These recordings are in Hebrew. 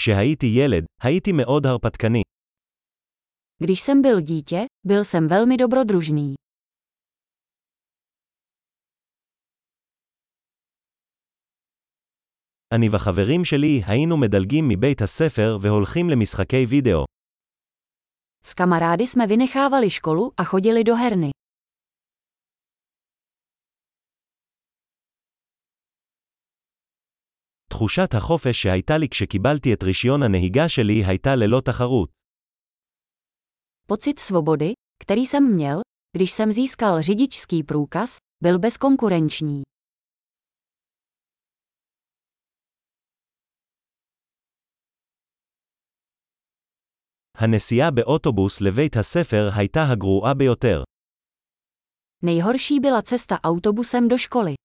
כשהייתי ילד, הייתי מאוד הרפתקני. Když jsem byl dítě, byl jsem velmi dobrodružný. אני וחברים שלי היינו מדלגים מבית הספר והולכים למשחקי וידאו. S kamarády jsme vynechávali školu a chodili do herny. תחושת החופש שהייתה לי כשקיבלתי את רישיון הנהיגה שלי הייתה ללא תחרות. Pocit svobody, který jsem měl, když jsem získal řidičský průkaz, byl bezkonkurenční. הנסיעה באוטובוס לבית הספר הייתה הגרועה ביותר. Nejhorší byla cesta autobusem do školy.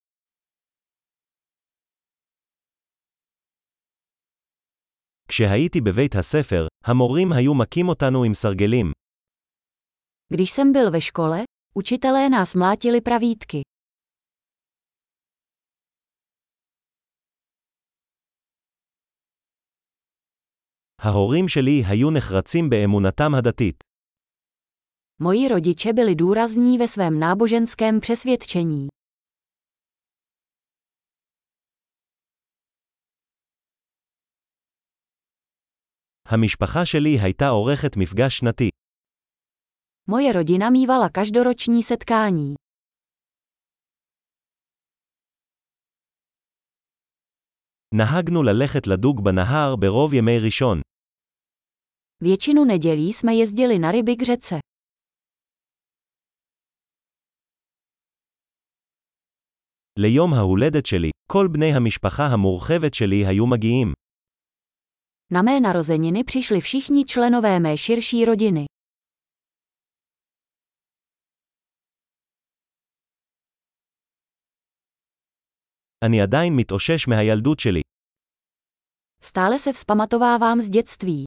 כשהייתי בבית הספר, המורים היו מכים אותנו עם סרגלים. Když jsem byl ve škole, učitelé nás mlátili pravítky. ההורים שלי היו נחרצים באמונתם הדתית. Moji rodiče byli důrazní ve svém náboženském přesvědčení. המשפחה שלי הייתה עורכת מפגש שנתי. Moje rodina mívala každoroční setkání. נהגנו ללכת לדוג בנהר ברוב ימי ראשון. Většinu nedělí jsme jezdili na ryby k řece. ליום ההולדת שלי, כל בני המשפחה המורחבת שלי היו מגיעים. Na mé narozeniny přišli všichni členové mé širší rodiny. אני עדיין מתאושש מהילדות שלי. Stále se vzpamatovávám z dětství.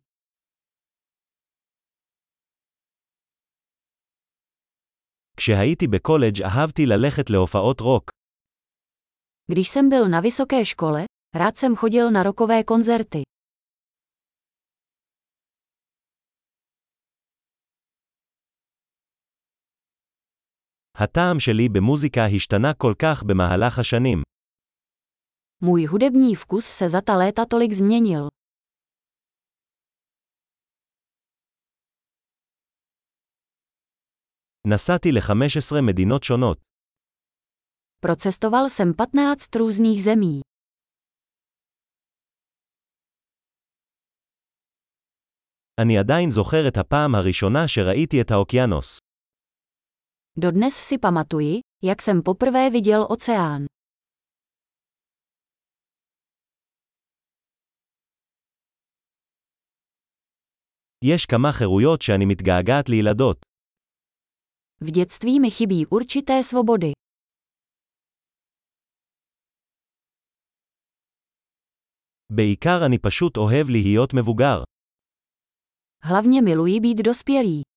כשהייתי בקולג' אהבתי ללכת להופעות רוק. Když jsem byl na vysoké škole, rád jsem chodil na rockové koncerty. הטעם שלי במוזיקה השתנה כל כך במהלך השנים. Můj hudební vkus se za ta léta tolik změnil. נסעתי ל-15 מדינות שונות. Procestoval jsem 15 různých zemí. אני עדיין זוכר את הפעם הראשונה שראיתי את האוקיינוס. Dodnes si pamatuji, jak jsem poprvé viděl oceán. יש כמה חירויות שאני מתגעגעת לילדות. V dětství mi chybí určité svobody. בעיקר אני פשוט אוהב להיות מבוגר. Hlavně miluji být dospělý.